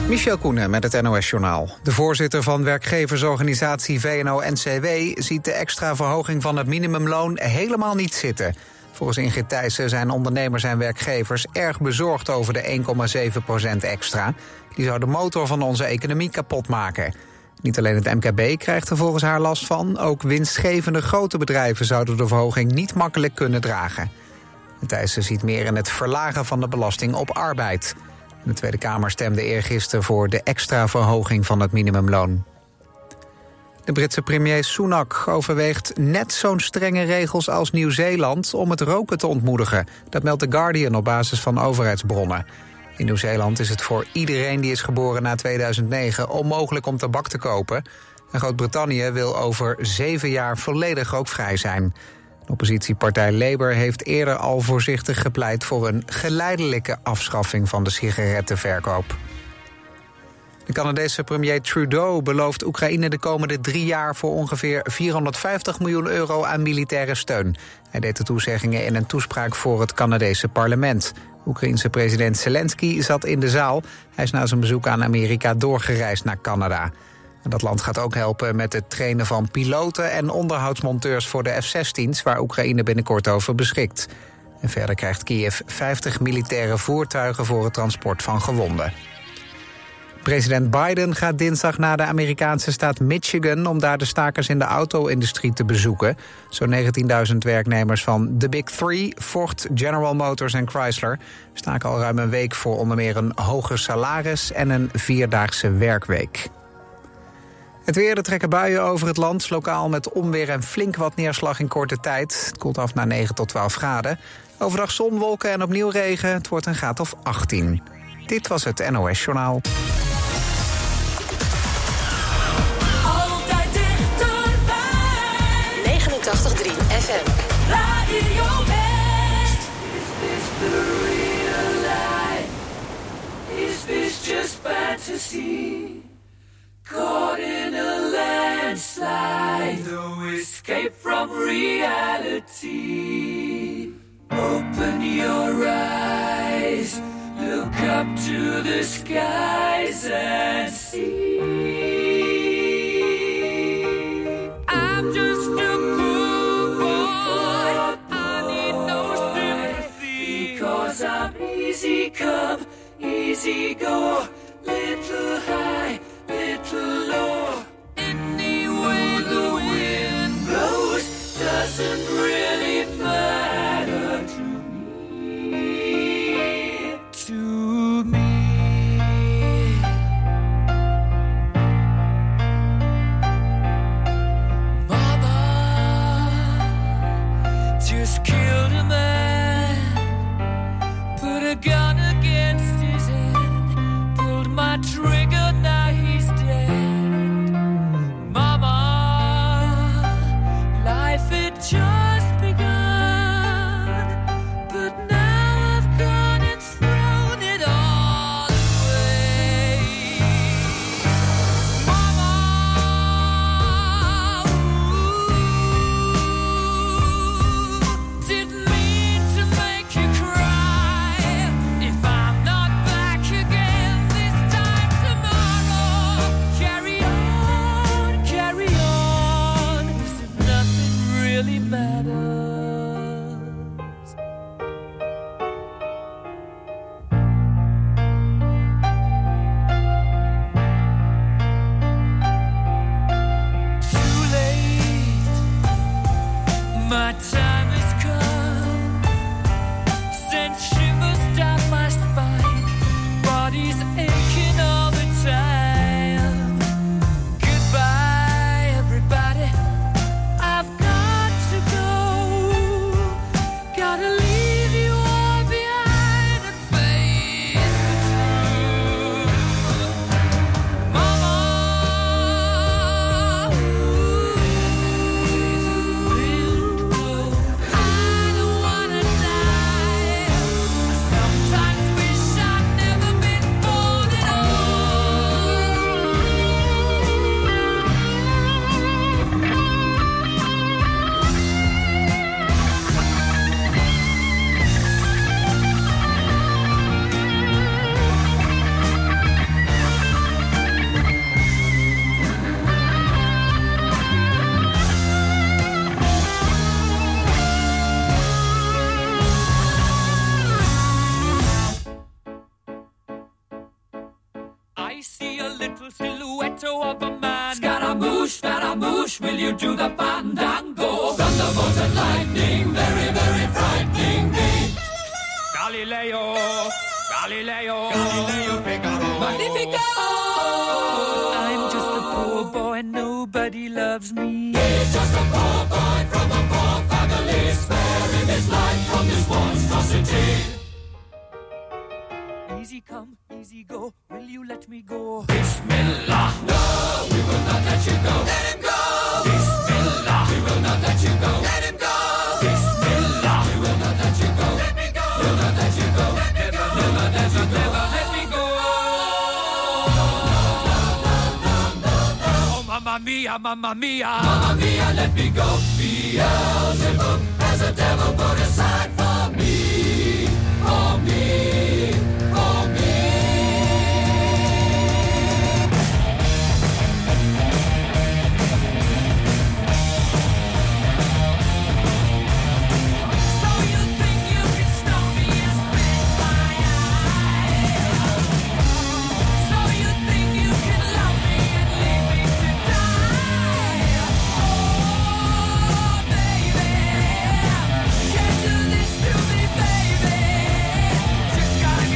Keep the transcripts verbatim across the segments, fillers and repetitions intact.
Michel Koenen met het N O S-journaal. De voorzitter van werkgeversorganisatie V N O-N C W ziet de extra verhoging van het minimumloon helemaal niet zitten. Volgens Ingrid Thijssen zijn ondernemers en werkgevers erg bezorgd over de één komma zeven procent extra. Die zou de motor van onze economie kapot maken. Niet alleen het M K B krijgt er volgens haar last van, ook winstgevende grote bedrijven zouden de verhoging niet makkelijk kunnen dragen. Thijssen ziet meer in het verlagen van de belasting op arbeid. De Tweede Kamer stemde eergisteren voor de extra verhoging van het minimumloon. De Britse premier Sunak overweegt net zo'n strenge regels als Nieuw-Zeeland om het roken te ontmoedigen. Dat meldt The Guardian op basis van overheidsbronnen. In Nieuw-Zeeland is het voor iedereen die is geboren na tweeduizend negen onmogelijk om tabak te kopen. En Groot-Brittannië wil over zeven jaar volledig rookvrij zijn. De oppositiepartij Labour heeft eerder al voorzichtig gepleit voor een geleidelijke afschaffing van de sigarettenverkoop. De Canadese premier Trudeau belooft Oekraïne de komende drie jaar voor ongeveer vierhonderdvijftig miljoen euro aan militaire steun. Hij deed de toezeggingen in een toespraak voor het Canadese parlement. Oekraïense president Zelensky zat in de zaal. Hij is na zijn bezoek aan Amerika doorgereisd naar Canada. Dat land gaat ook helpen met het trainen van piloten en onderhoudsmonteurs voor de F zestien's... waar Oekraïne binnenkort over beschikt. En verder krijgt Kiev vijftig militaire voertuigen voor het transport van gewonden. President Biden gaat dinsdag naar de Amerikaanse staat Michigan om daar de stakers in de auto-industrie te bezoeken. Zo'n negentienduizend werknemers van The Big Three, Ford, General Motors en Chrysler, staken al ruim een week voor onder meer een hoger salaris en een vierdaagse werkweek. Het weer, er trekken buien over het land, lokaal met onweer en flink wat neerslag in korte tijd. Het koelt af naar negen tot twaalf graden. Overdag zon, wolken en opnieuw regen. Het wordt een graad of achttien. Dit was het N O S-journaal. Altijd dichterbij. negenentachtig komma drie F M. Radio West. Is this the real life? Is this just fantasy? Caught in a landslide, no escape from reality. Open your eyes, look up to the skies and see. I'm just a poor boy, I need no sympathy, because I'm easy come, easy go, little high, little low. Any way the wind blows doesn't really matter to me. To me. Mama just killed a man, put a gun against his head, pulled my trigger, now he's dead. Mama, life had just begun, but now I've gone and thrown it all away. Mama, ooh, didn't mean to make you cry. If I'm not back again this time I see a little silhouette of a man. Scaramouche, Scaramouche, will you do the fandango? Thunderbolt and lightning, very, very frightening me. Galileo, Galileo, Galileo Figaro. Magnifico! I'm just a poor boy, nobody loves me. He's just a poor boy from a poor family, sparing his life from this monstrosity. Easy come, easy go, will you let me go? Bismillah, no, we will not let you go. Let him go! Bismillah, we will not let you go. Let him go! Bismillah, we will not let you go. Let me go! We'll not let you go. Let me go! Never, never, never, never let me go. No, no, no, no, no, no. Oh, mamma mia, mamma mia. Mamma mia, let me go. Beelzebub has a devil put aside for me, for me. Just gotta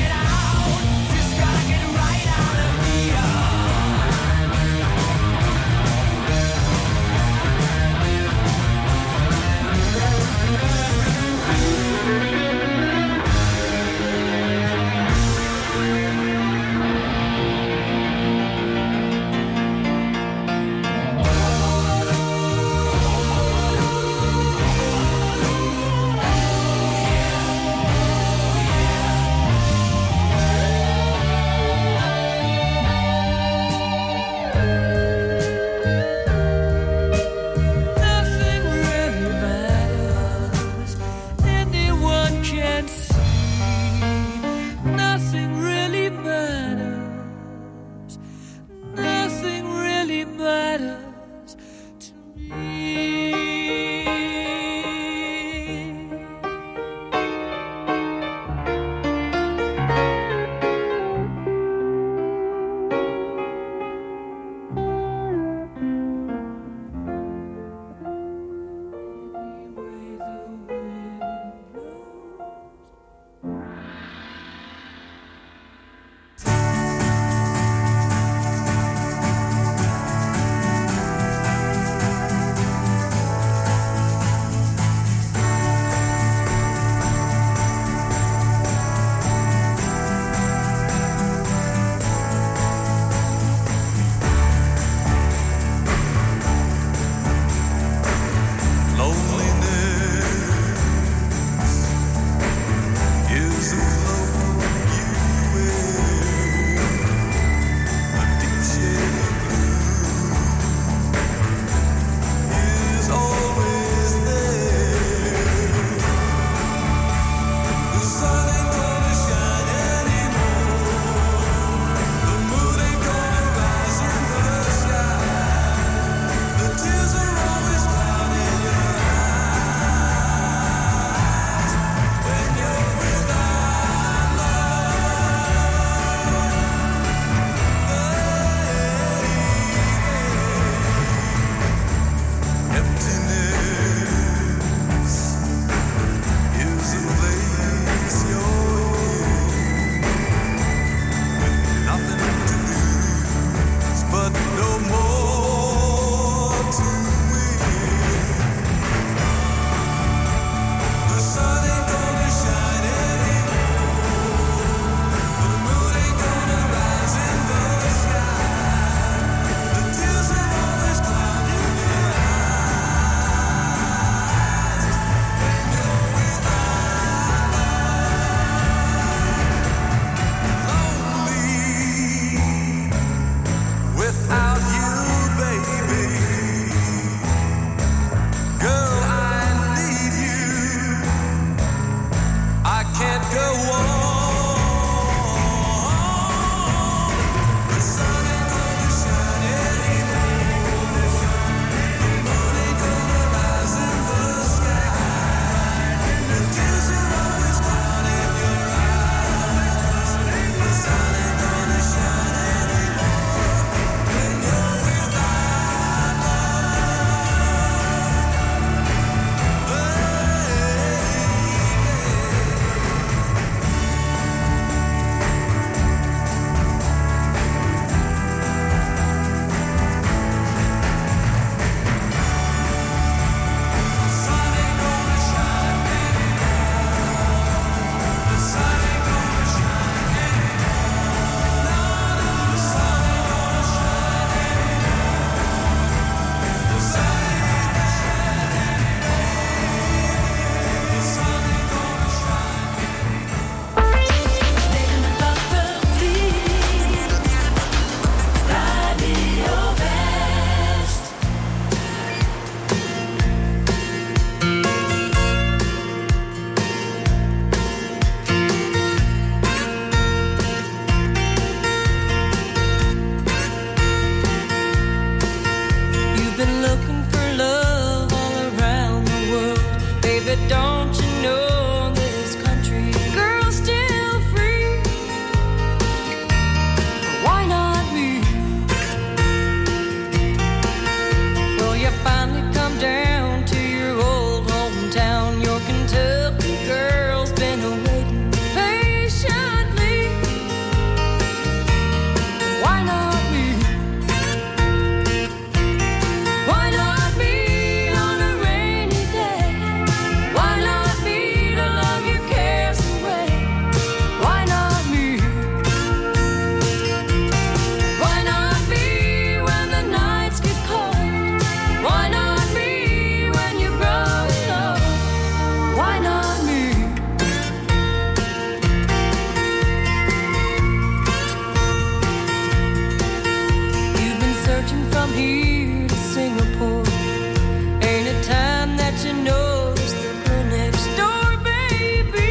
here to Singapore. Ain't a time that you notice the girl next door, baby.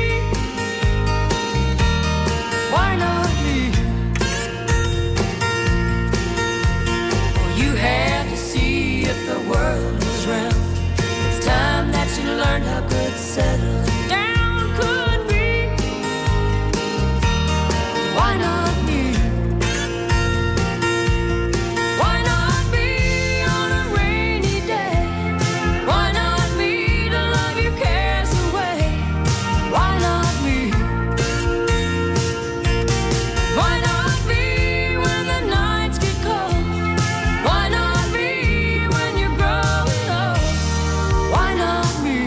Why not me? Well, you had to see if the world was round. It's time that you learned how good settling down could be. Why not me? Why not me on a rainy day? Why not me to love your cares away? Why not me? Why not me when the nights get cold? Why not me when you're growing old? Why not me?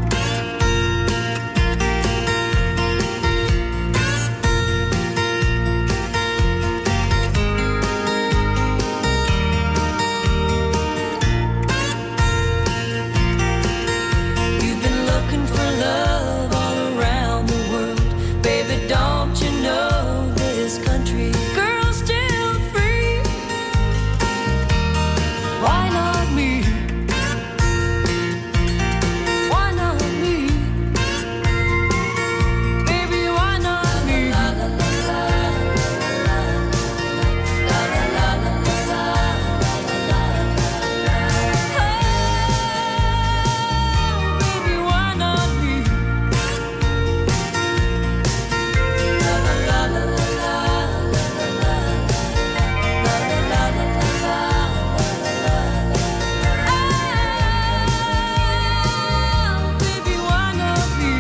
You've been looking for love all around the world. Baby, don't you know this country girl's still free? Why not me? Why not me? Baby, why not me? La la la la la la la la la la la. Oh, baby, why not me? La la la la la la la la la la la la la. Baby, why not me?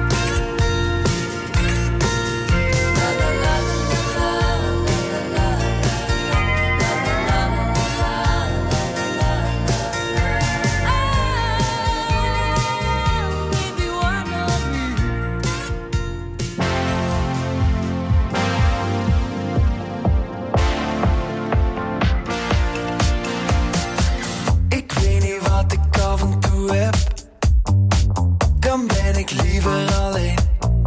La la la la la la la baby, why not me? Ik weet niet wat ik af en toe heb. Dan ben ik liever alleen.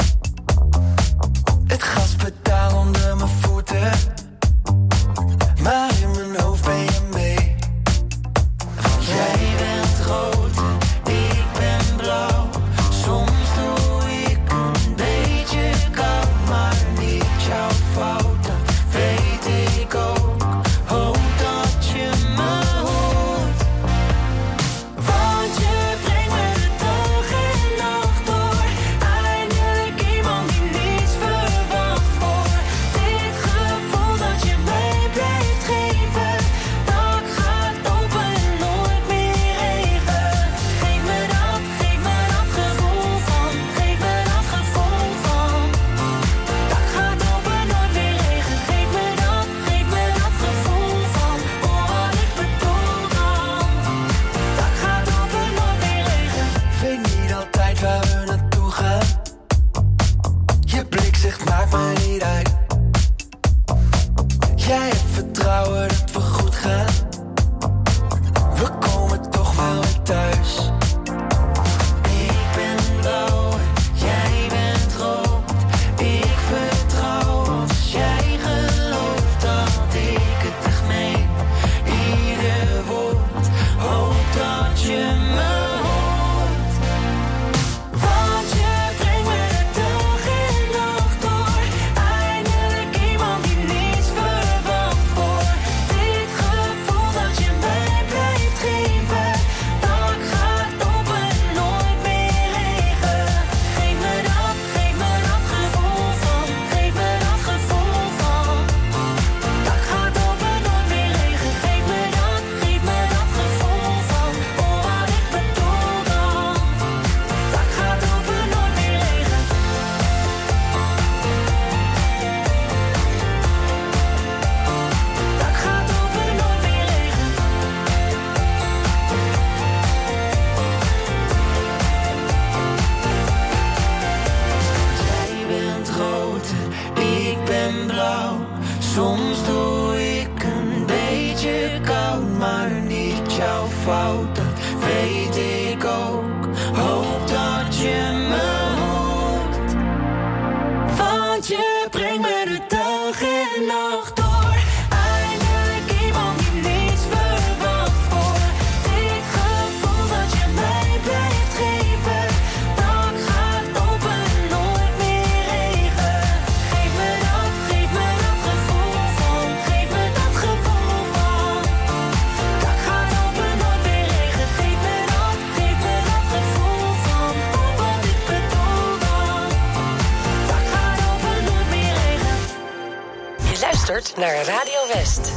Het gaspedaal onder mijn voeten. Maar in mijn hoofd ben je mee. Want jij bent rood, ik ben blauw. Soms doe ik een beetje koud, maar niet jouw fout. Dat weet ik ook. Hoop dat je me hoort. Want je brengt me de dag en nacht door. Eindelijk iemand die niets verwacht voor. Dit gevoel dat je mij blijft geven. Dak gaat open en nooit meer regen. Geef me dat, geef me dat gevoel van. Geef me dat gevoel van. Dak gaat open, nooit meer regen. Geef me dat, geef me dat gevoel van. Oh, wat ik bedoel dan. Dak gaat open, nooit meer regen. Weet niet altijd waar we naartoe gaan. Je blik zegt maakt me niet uit. Jij hebt vertrouwen dat we goed gaan. We komen toch wel weer thuis. Ik ben blauw en jij bent rood. Ik vertrouw als jij gelooft dat ik het echt meen. Ieder woord, hoop dat je me hoort. Want je brengt me de dag en nacht door. Eindelijk iemand die niets verwacht voor. Dit gevoel dat je mij blijft geven. Dak gaat open en nooit meer regen. Geef me dat, geef me dat gevoel van. Geef me dat gevoel van. Dak gaat open, nooit meer regen. Geef me dat, geef me dat gevoel van. Oh, wat ik bedoel dan. Dak gaat open, nooit meer regen. Dak gaat open, nooit meer regen. Jij bent rood en ik ben blauw. Soms doe ik een beetje koud, maar niet jouw fout. Dat weet ik ook. Hoop dat je me hoort. Want je brengt me de dag en nacht door. Eindelijk iemand die niets verwacht. luistert naar Radio West.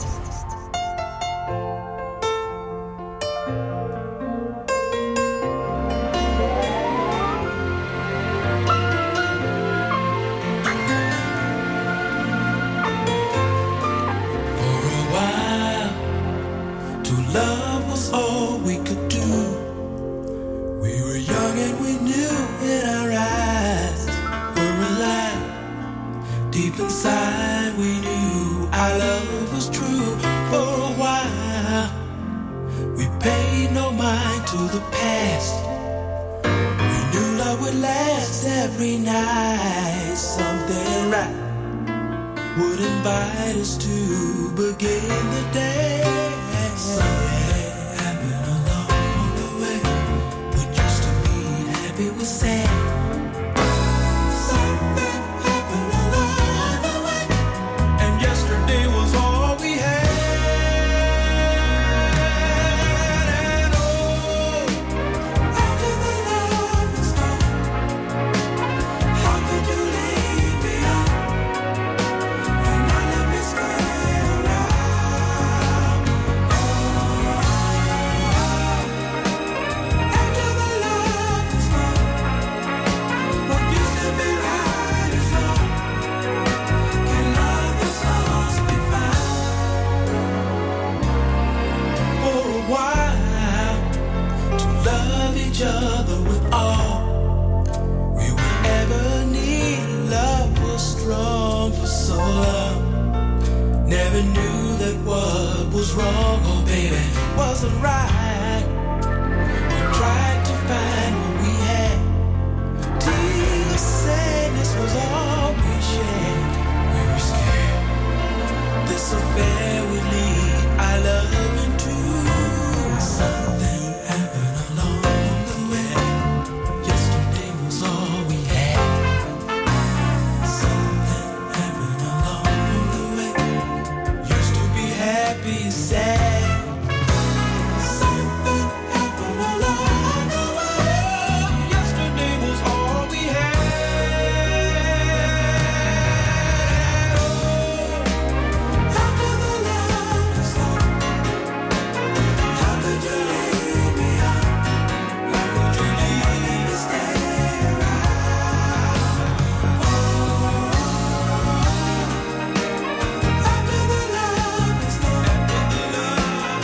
Love was all we could do. We were young and we knew in our eyes were alive. Deep inside we knew our love was true. For a while we paid no mind to the past. We knew love would last every night. Something right would invite us to begin the day. Something happened along the way. What used to be happy was sad. Something happened along the way, and yesterday was all we had. And oh, after the love was gone, how could you leave me on and not let me stay around? Each other with all we would ever need. Love was strong for so long. Never knew that what was wrong, oh baby, wasn't right. We tried to find what we had. Deep sadness was all we shared. We were scared this affair would lead our love into something. Be sad. Something happened along the way. Yesterday was all we had. Oh, after the love was gone, how could you leave me on? How could you leave me stay around? Oh, after the love was gone.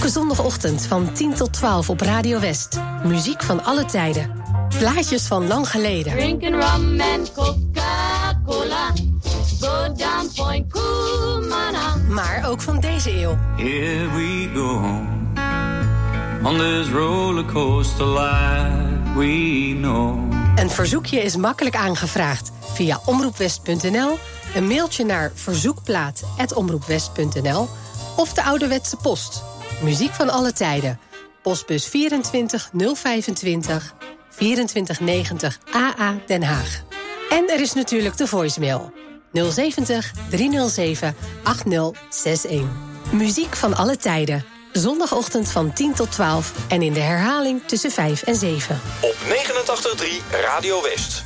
Elke zondagochtend van tien tot twaalf op Radio West. Muziek van alle tijden. Plaatjes van lang geleden. Drinking rum and Coca-Cola. Go down Point Kumana. Maar ook van deze eeuw. Here we go. On this rollercoaster life we know. Een verzoekje is makkelijk aangevraagd via omroepwest punt n l, een mailtje naar verzoekplaat apenstaartje omroepwest punt n l of de ouderwetse post. Muziek van alle tijden. Postbus vierentwintig nul vijfentwintig vierentwintig negentig A A Den Haag. En er is natuurlijk de voicemail nul zeventig driehonderdzeven achtzig zestig. Muziek van alle tijden. Zondagochtend van tien tot twaalf en in de herhaling tussen vijf en zeven. Op negenentachtig komma drie Radio West.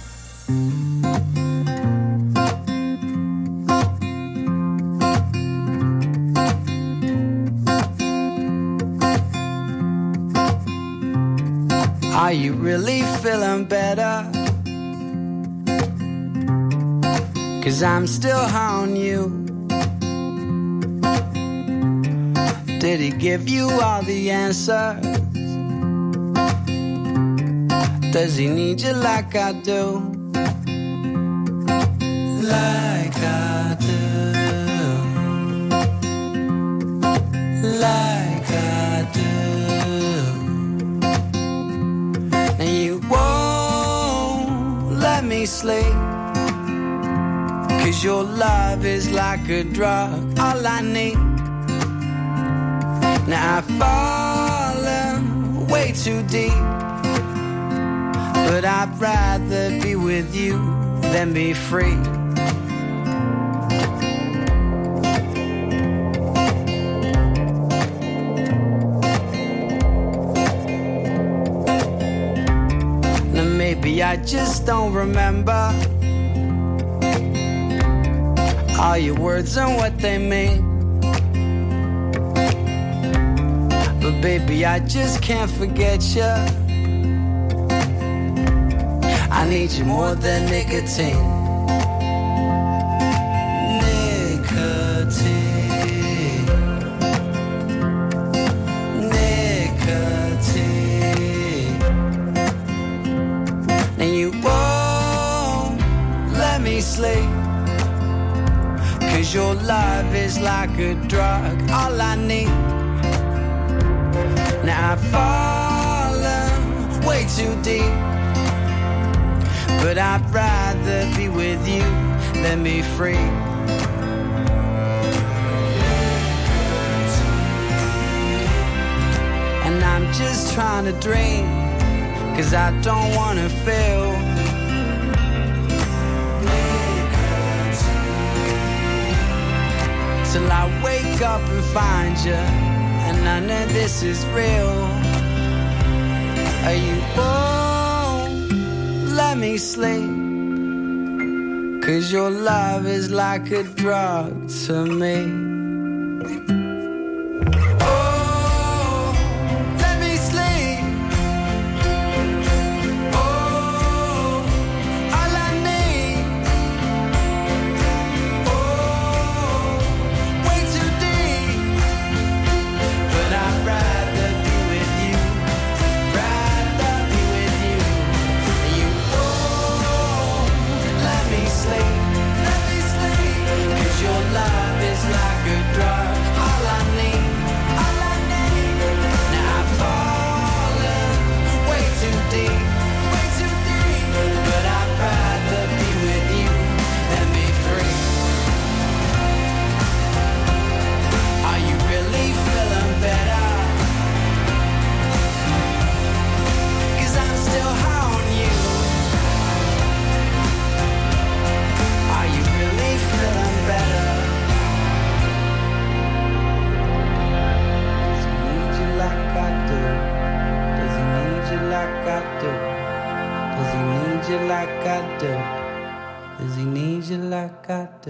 Are you really feeling better? 'Cause I'm still on you. Did he give you all the answers? Does he need you like I do? Like I do. Like I do. And you won't let me sleep, 'cause your love is like a drug, all I need. Now I've fallen way too deep, but I'd rather be with you than be free. Now maybe I just don't remember all your words and what they mean. But baby, I just can't forget you. I need you more than nicotine. Nicotine. Nicotine. And you won't let me sleep, 'cause your love is like a drug, all I need. Now I've fallen way too deep, but I'd rather be with you than be free. And I'm just trying to dream, 'cause I don't wanna feel. Till I wake up and find you, and I know this is real. You won't let me sleep, 'cause your love is like a drug to me. Oh, let me sleep. Oh, all I need. Oh, way too deep, but I'd rather be with you. Rather be with you. You won't let me sleep. Let me sleep. 'Cause your love is like a drug. All I need. All I need. Now I've fallen way too deep. Way too deep. But I'd rather be with you than be free. Are you really feeling better? 'Cause I'm still on you. Are you really feeling better? Does he need you like I do? Does he need you like I do? Does he need you like I do? Does he need you like I do?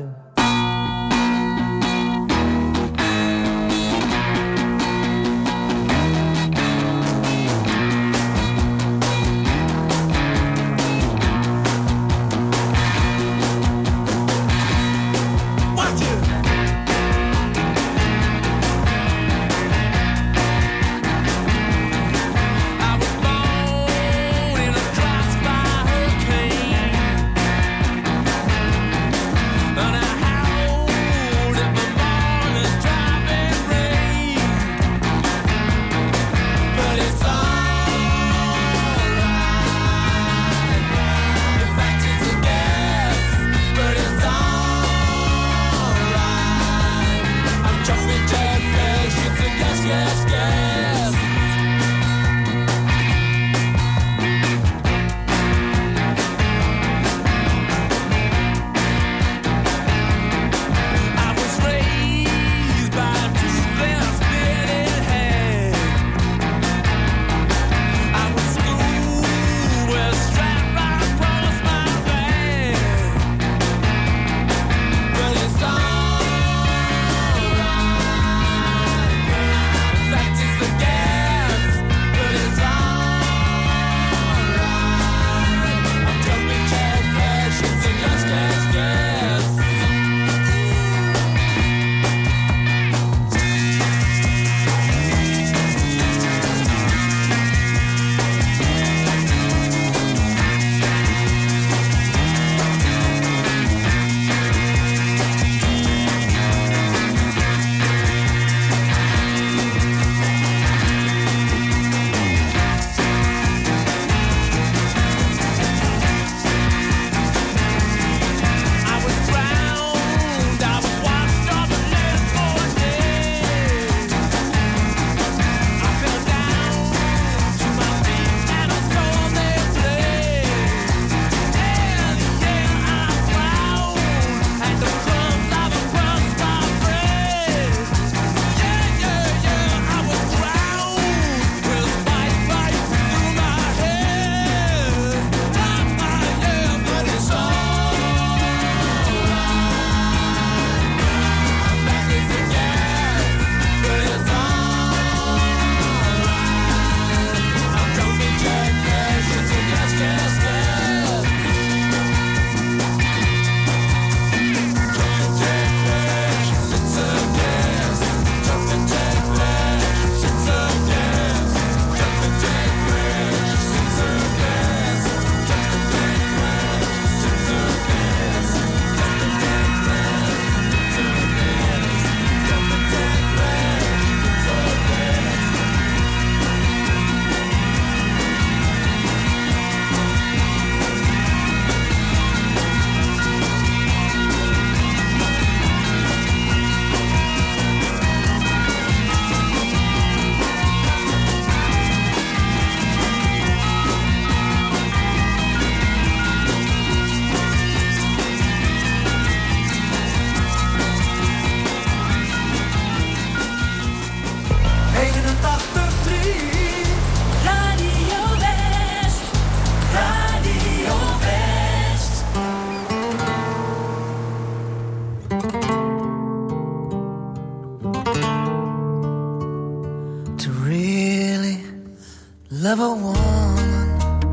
love a woman,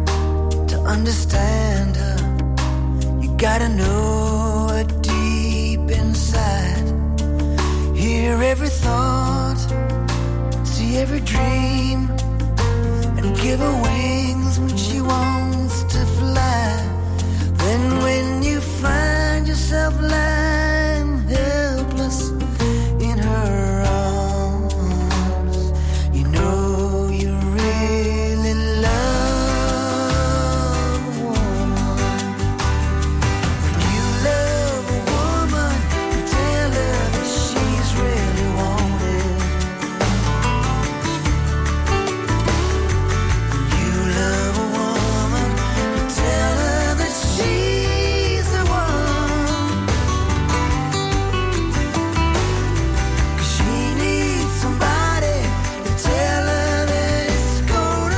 to understand her, you gotta know her deep inside. Hear every thought, see every dream, and give her wings when she wants to fly. Then when you find yourself lying helpless in her arms, you know you really love a woman. When you love a woman, you tell her that she's really wanted. When you love a woman, you tell her that she's the one. 'Cause she needs somebody to tell her that it's gonna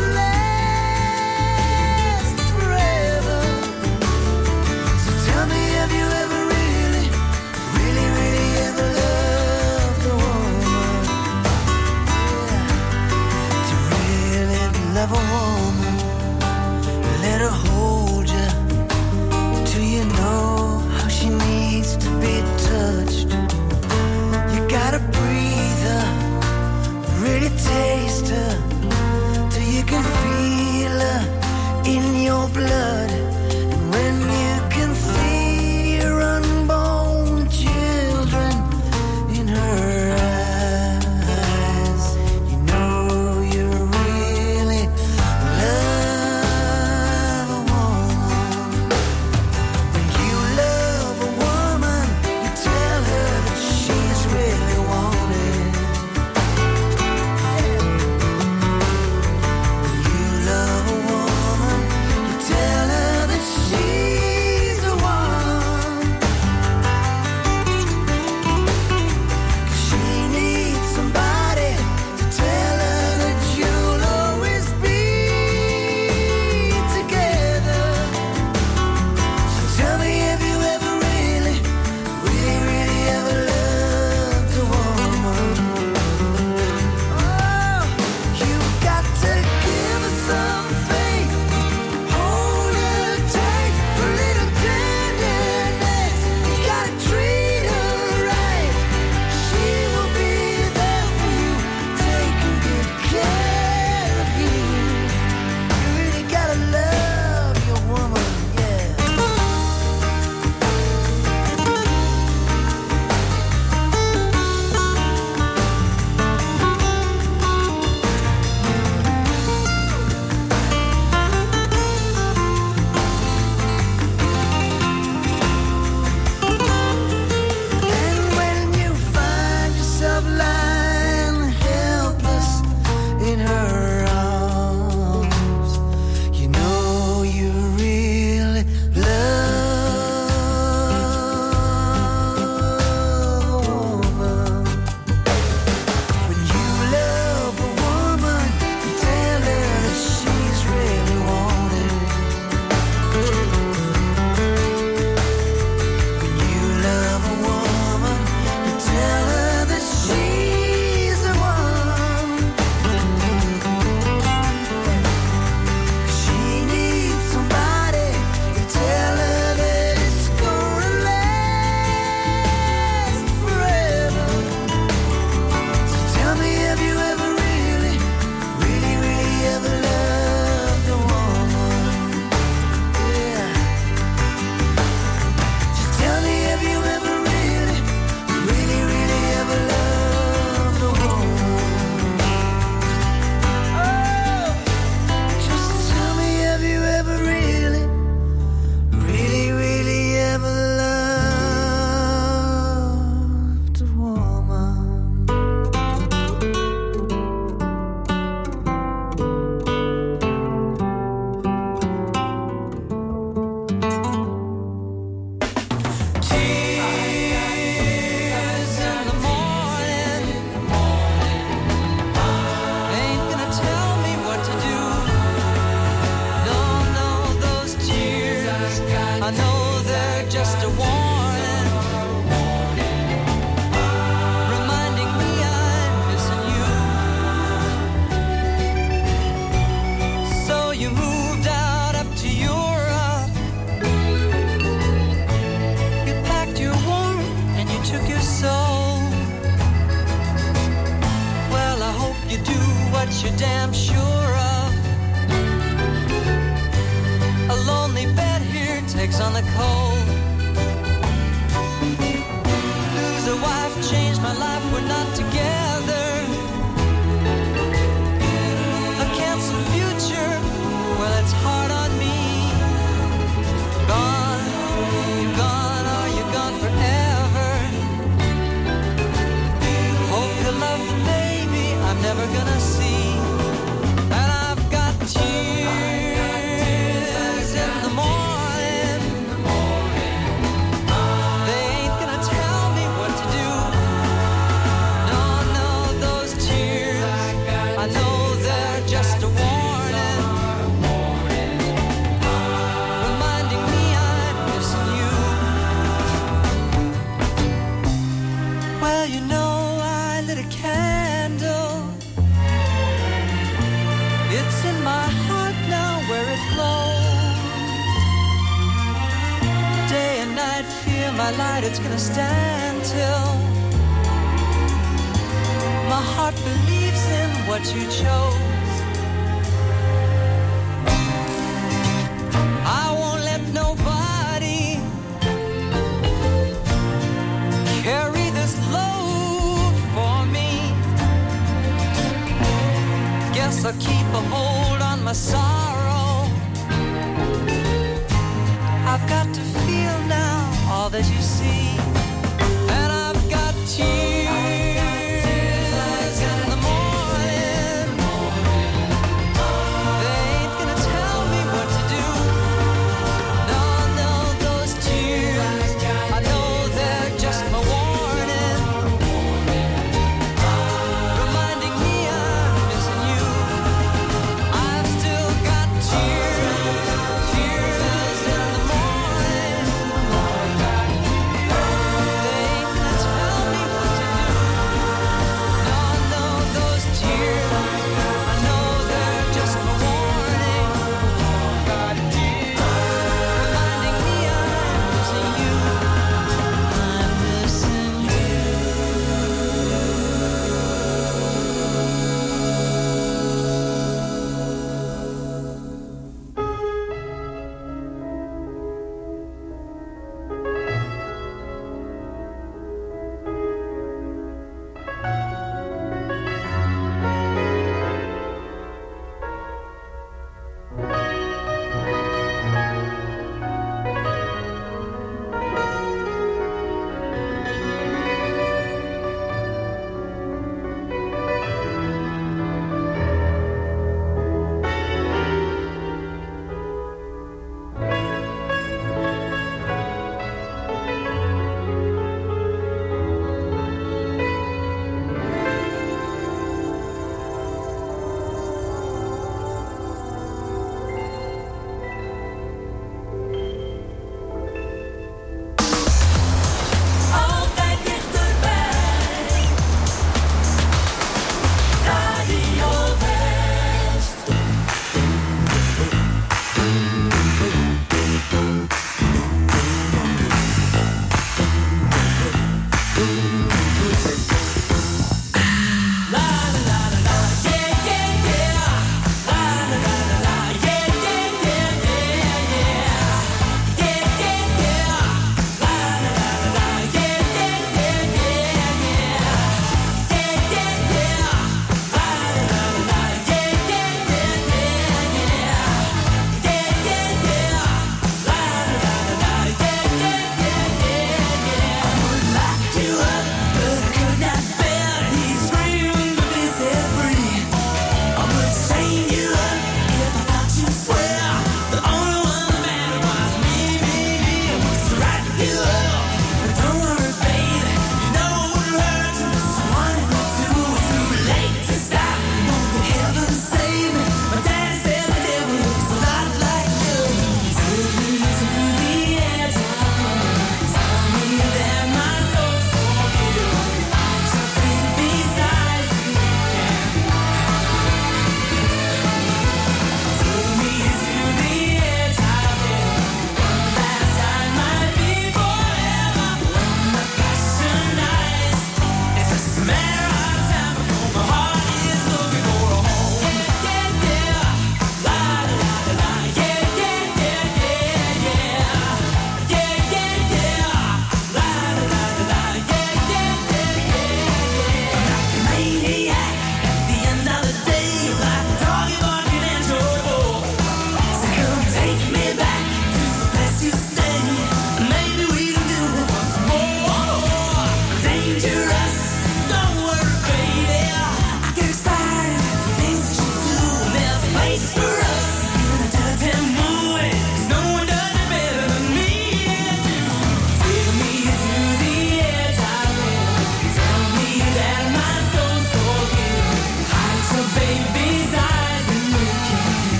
last forever. So tell me, have you ever really, really, really ever loved a woman? Yeah. To really love a woman, let her hold you till you know how she needs to be touched. You gotta breathe her, really taste her, till you can feel her in your blood. And when you can see your unborn children in her eyes, you know you really love a woman. When you love a woman, you tell her that she's really wanted. never gonna see. And I've got tears in the morning. They ain't gonna tell me what to do. No, no, those tears, I know they're just a warning, reminding me I'm missing you. Well, you know, I lit a candle. It's in my heart now where it glows. Day and night, fear my light, it's gonna stand till my heart believes in what you chose. I won't let nobody carry this load for me. Guess I'll keep a hold on my sorrow. I've got to feel now all that you see. And I've got tears in the morning. They ain't gonna tell me what to do. No, no, those tears, I know they're just my warning, reminding me I'm missing you. I've still got tears, tears in the morning.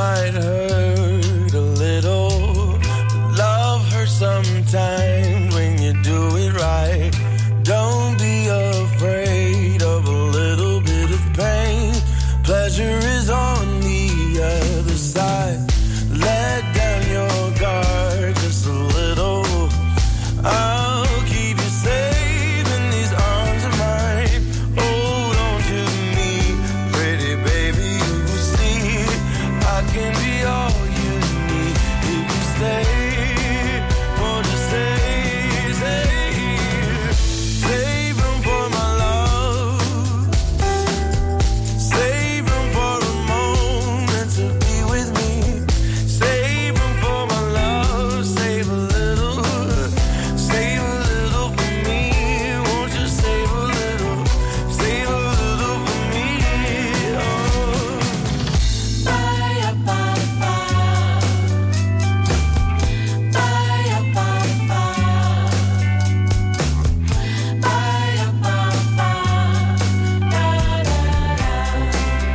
might hurt a little. Love hurts sometimes when you do it right. Don't be afraid of a little bit of pain. Pleasure is on the other side. Let down your guard just a little. I'll keep you safe in these arms of mine. Hold on to me, pretty baby, you will see I can be all you need if you stay. Won't you stay, stay here? Save room for my love. Save room for a moment to be with me. Save room for my love. Save a little. Save a little for me. Won't you save a little? Save a little for me. Oh. Bye, bye, bye. Bye, bye, bye. Bye, bye, bye. Da, da, da.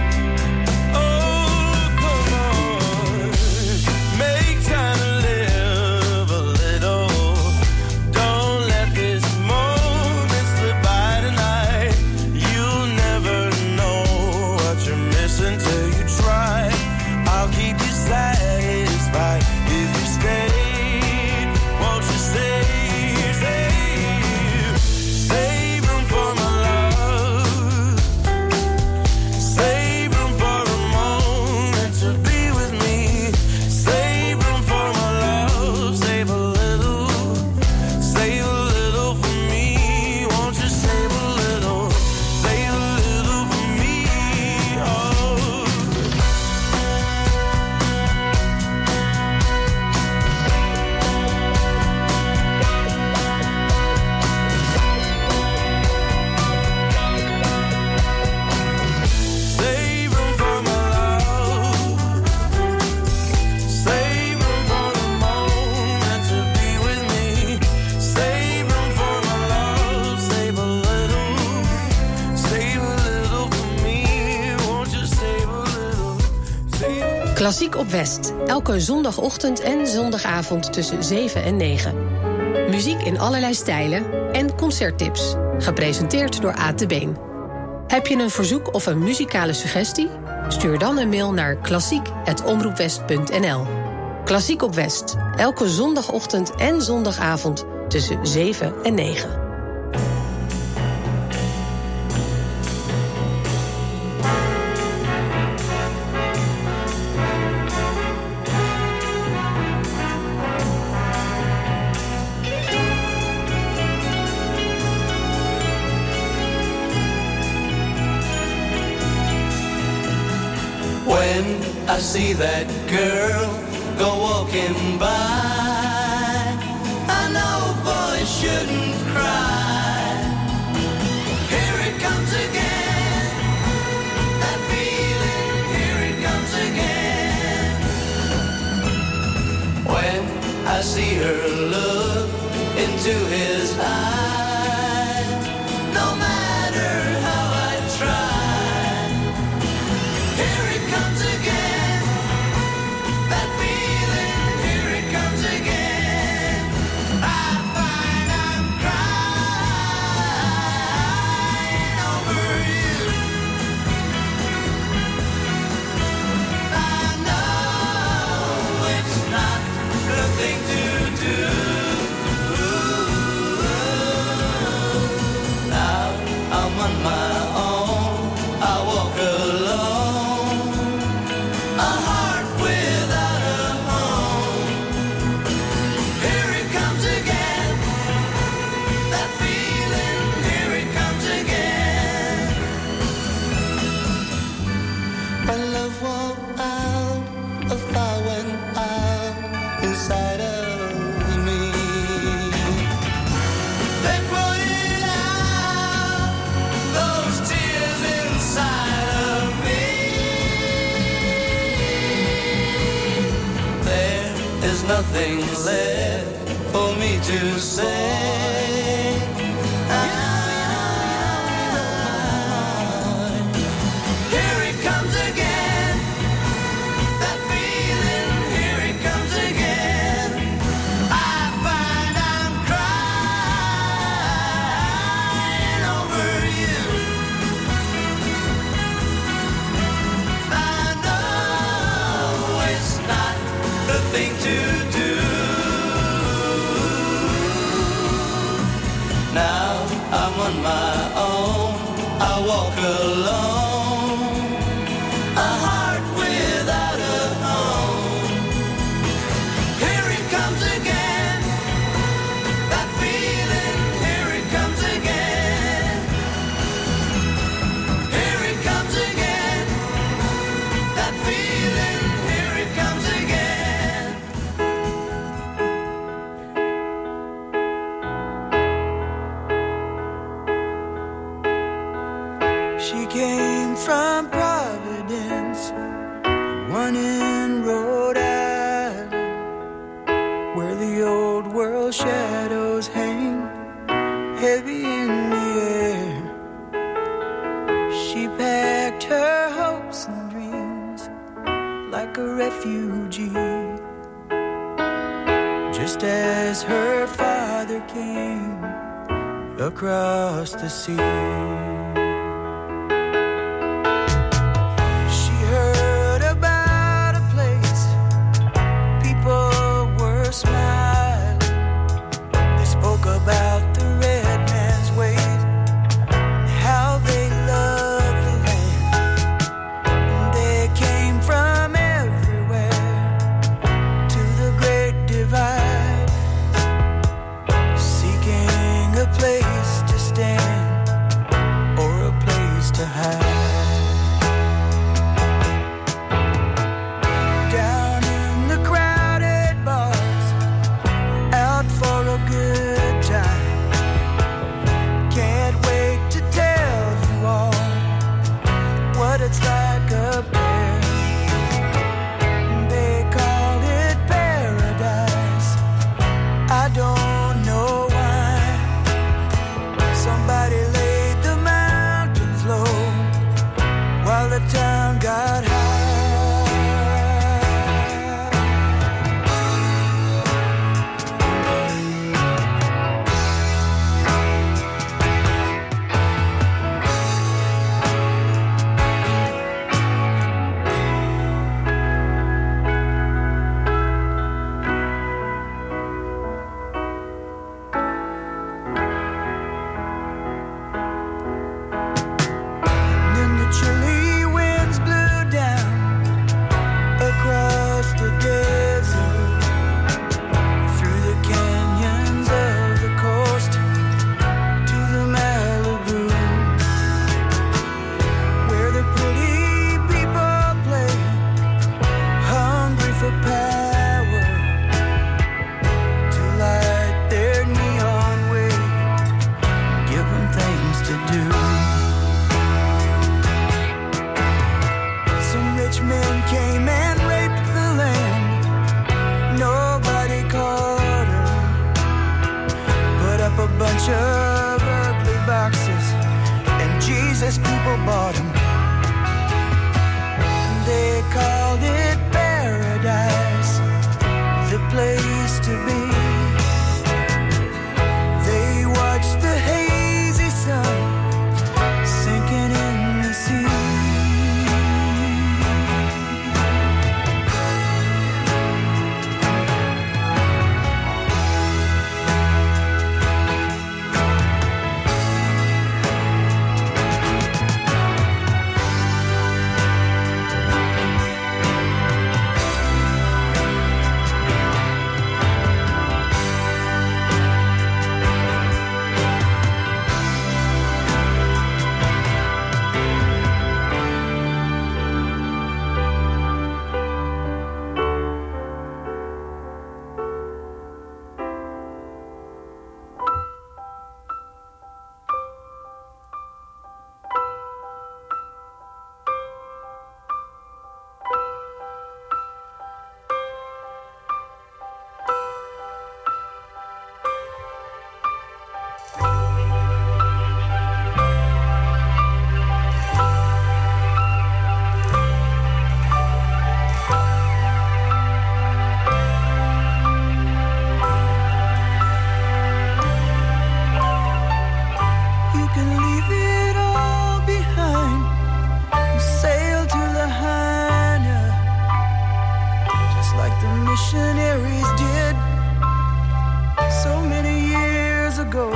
Oh, come on. Make time to live a little. Don't let this moment slip by tonight. You'll never know what you're missing till you try. I'll keep you satisfied if you stay. Won't you stay, stay? Save room for my love. Save room for a moment to be with me. Save room for my love. Save a little. Save a little for me. Won't you save a little? Save a little for me. Oh. Save room for my love. Save room for the moment to be with me. Save room for my love. Save a little. Save a little for me. Won't you save a little? Save a little. Klassiek op West. Elke zondagochtend en zondagavond tussen zeven en negen. Muziek in allerlei stijlen en concerttips. Gepresenteerd door Aad de Been. Heb je een verzoek of een muzikale suggestie? Stuur dan een mail naar klassiek apenstaartje omroepwest punt n l. Klassiek op West. Elke zondagochtend en zondagavond tussen zeven en negen. When I see that girl go walking by, I know boys shouldn't cry. Here it comes again, that feeling, here it comes again. When I see her look into his eyes, no matter how I try, here it comes again, that feeling, here it comes again. I find I'm crying over you. I know it's not the thing to do. Now I'm on my own, I walk alone, a heart without a home. Here it comes again, that feeling, here it comes again. My love went out, a fire went out inside of me. They put it out, those tears inside of me. There is nothing left for me to say. Here it comes again, that feeling. came from Providence, one in Rhode Island, where the old world shadows hang heavy in the air. She packed her hopes and dreams like a refugee, just as her father came across the sea. Smiling, they spoke about the red man's ways, how they loved the land. And they came from everywhere to the great divide, seeking a place to stand or a place to hide. It's like a bear. They call it paradise. I don't know why. Somebody laid the mountains low while the town got high. Of ugly boxes, and Jesus people bought them. They called it paradise, the place to be. They watched the hazy sun sinking in the sea. Missionaries did so many years ago.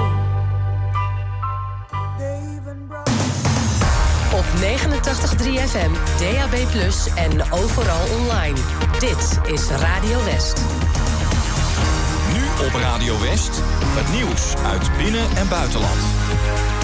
Op negenentachtig komma drie F M, D A B plus, en overal online. Dit is Radio West. Nu op Radio West, het nieuws uit binnen- en buitenland.